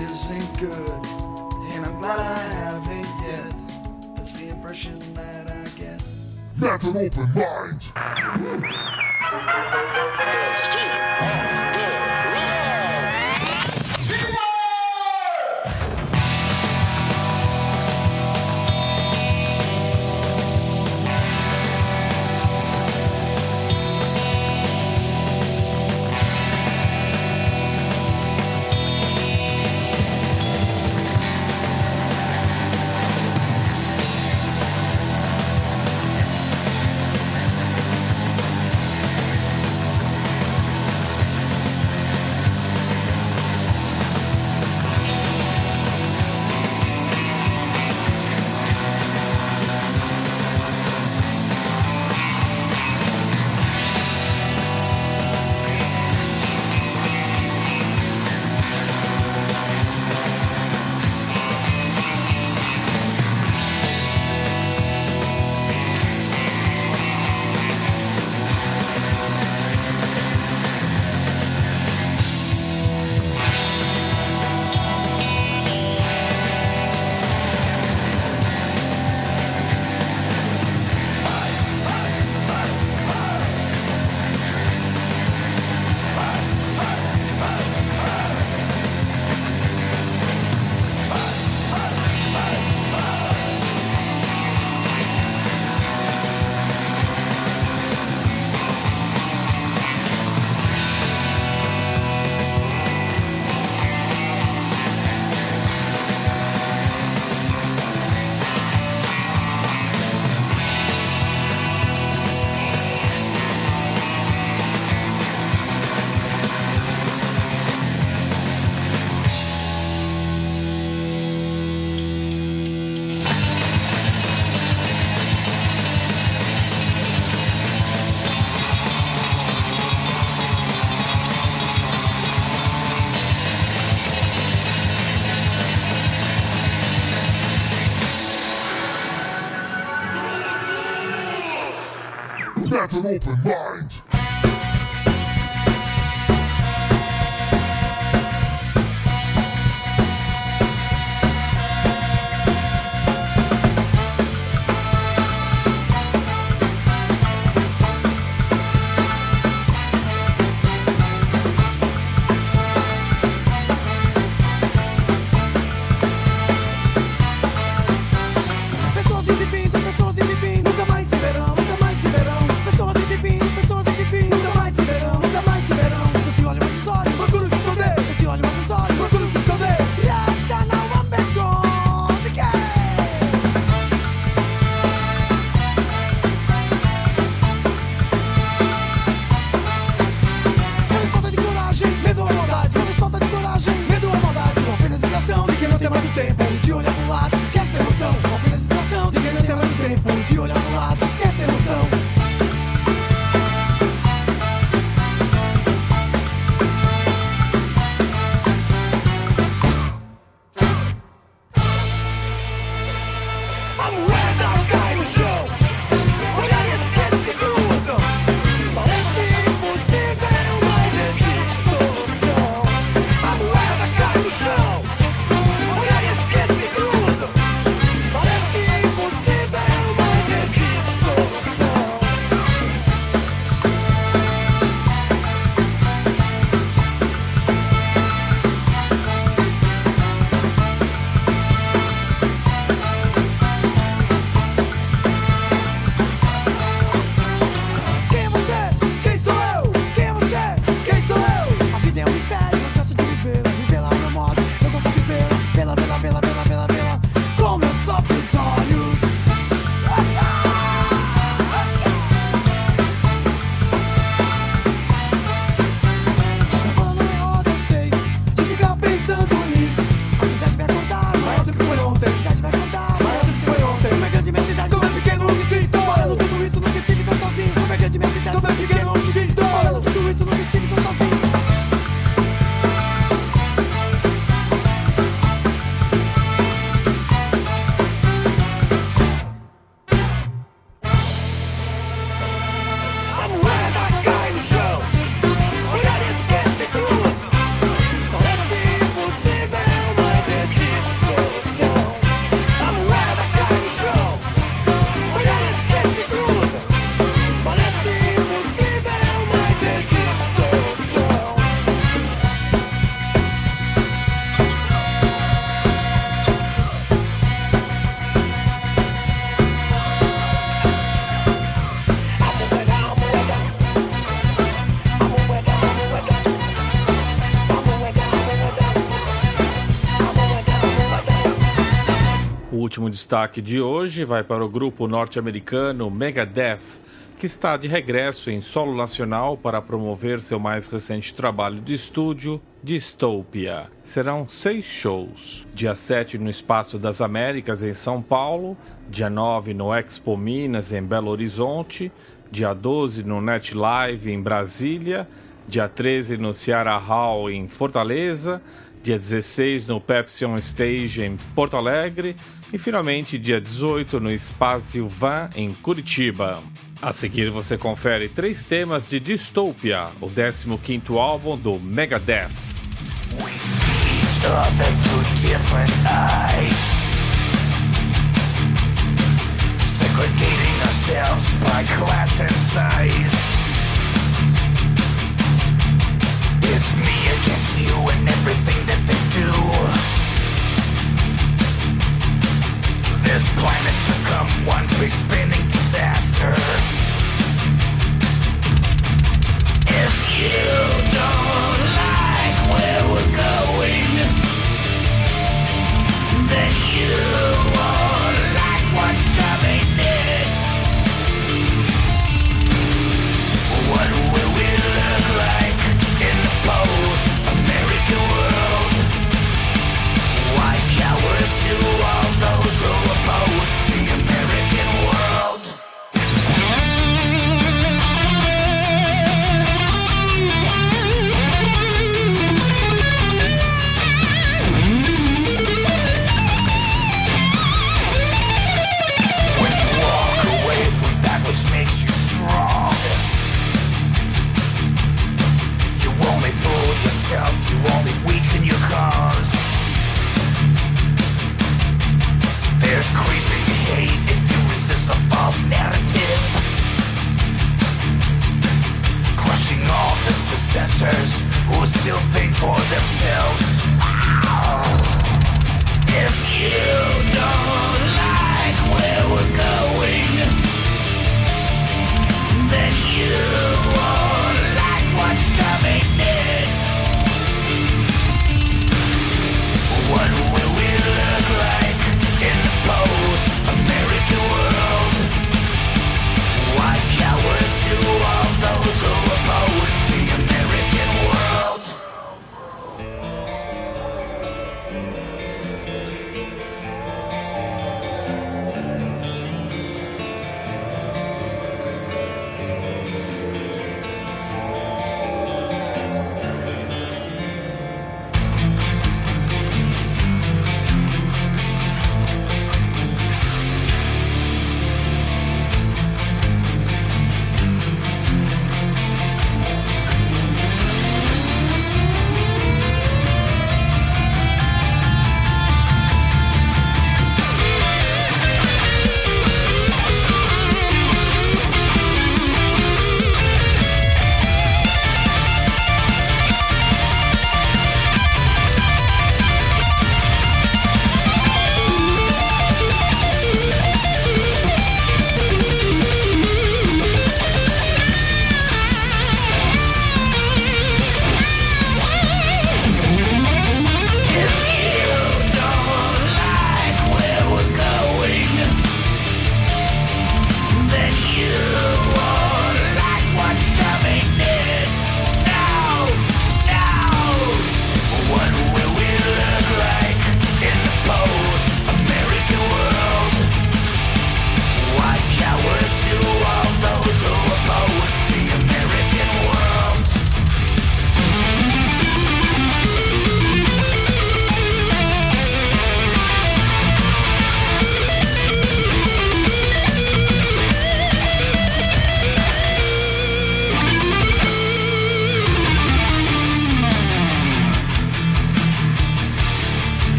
isn't good, and I'm glad I haven't yet. That's the impression that I get. Met an open mind. Met an open mind. Pessoas indo e vindo, nunca mais se verão, nunca mais se verão. Pessoas indo e vindo, nunca mais se verão, nunca mais se verão. Esse olho mais os olhos, procuro se esconder. Esse olho mais os olhos, procuro se esconder. Graça não há vergonha, que talvez falta de coragem, medo ou maldade. Talvez falta de coragem, medo ou maldade. Com apenas distração de quem não tem mais o tempo de olhar pro lado, esquece da emoção. Com apenas distração de quem não tem mais o tempo de olhar pro lado, esquece da emoção. A moeda cai no chão, olhar e esquece se cruzam. Parece impossível, mas existe solução. A moeda cai no chão, olhar e esquece se cruzam. Parece último destaque de hoje vai para o grupo norte-americano Megadeth, que está de regresso em solo nacional para promover seu mais recente trabalho de estúdio, Dystopia. Serão 6 shows. Dia 7 no Espaço das Américas, em São Paulo. Dia 9 no Expo Minas, em Belo Horizonte. Dia 12 no Net Live, em Brasília. Dia 13 no Ceará Hall, em Fortaleza. Dia 16 no Pepsi On Stage, em Porto Alegre. E finalmente dia 18 no Espaço Van, em Curitiba. A seguir você confere 3 temas de Dystopia, o 15º álbum do Megadeth. We see each other through different eyes, segregating ourselves by class and size. It's me against you and everything that they do. This planet's become one big spinning disaster. If you don't like where we're going,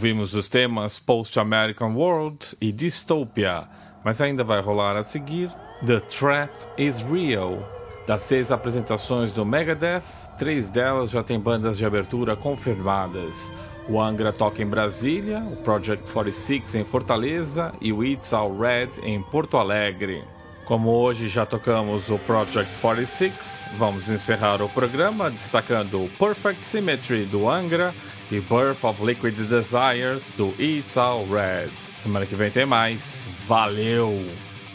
Ouvimos os temas Post-American World e Dystopia, mas ainda vai rolar a seguir The Threat is Real. Das 6 apresentações do Megadeth, 3 delas já têm bandas de abertura confirmadas. O Angra toca em Brasília, o Project 46 em Fortaleza e o It's All Red em Porto Alegre. Como hoje já tocamos o Project 46, vamos encerrar o programa destacando o Perfect Symmetry do Angra e Birth of Liquid Desires do It's All Red. Semana que vem tem mais. Valeu!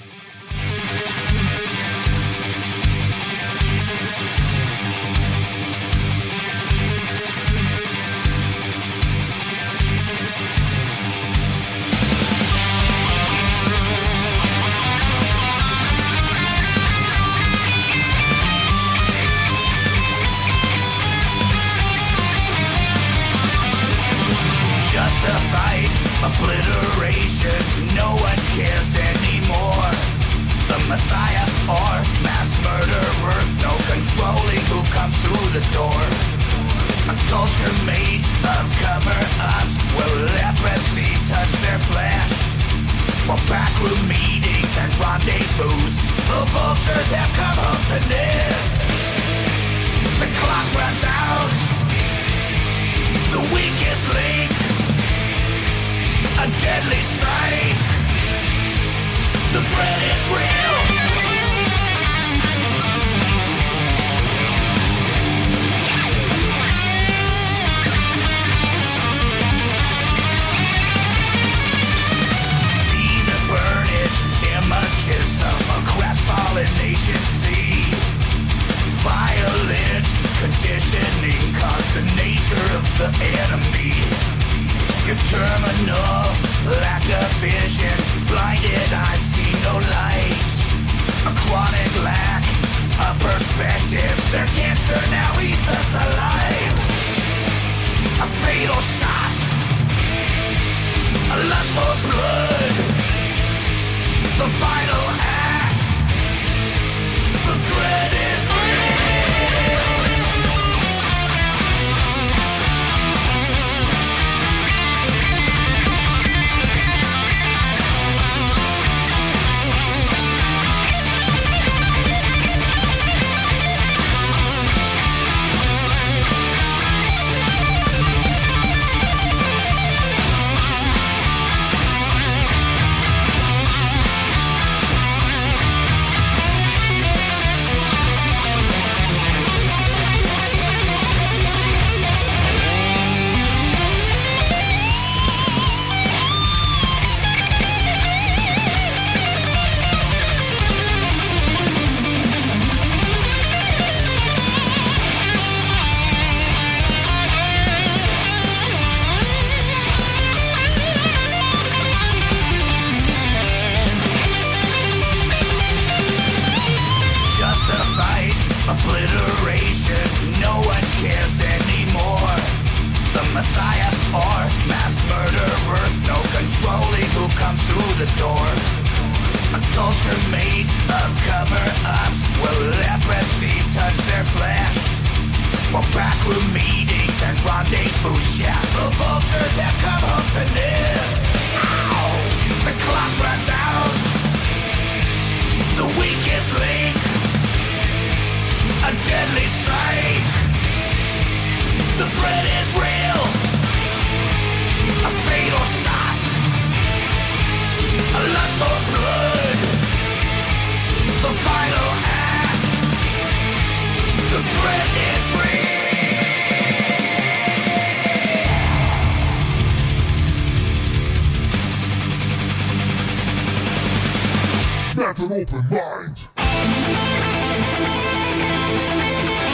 Obliteration, no one cares anymore. The Messiah or mass murderer, no controlling who comes through the door. A culture made of cover-ups, where leprosy touch their flesh. For backroom meetings and rendezvous, the vultures have come home to nest. The clock runs out, the weakest link, a deadly strike. The threat is real. See the burnished images of a crestfallen nation. See violent conditioning caused the nature of the enemy. Your terminal lack of vision, blinded eyes see no light. A chronic lack of perspective, their cancer now eats us alive. A fatal shot, a lust for blood. The final act, the threat is real. Messiah or mass murderer, no controlling who comes through the door. A culture made of cover-ups, where leprosy touch their flesh. For backroom meetings and rendezvous, yeah, the vultures have come home to nest. Ow! The clock runs out, the weakest link, a deadly strike. The threat is real. A fatal shot, a lust for blood. The final act, the threat is real. Not an open mind.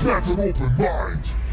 Let an open mind.